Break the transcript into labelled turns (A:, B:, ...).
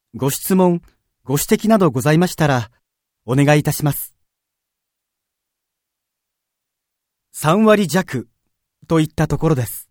A: ご質問、ご指摘などございましたら、お願いいたします。3割弱といったところです。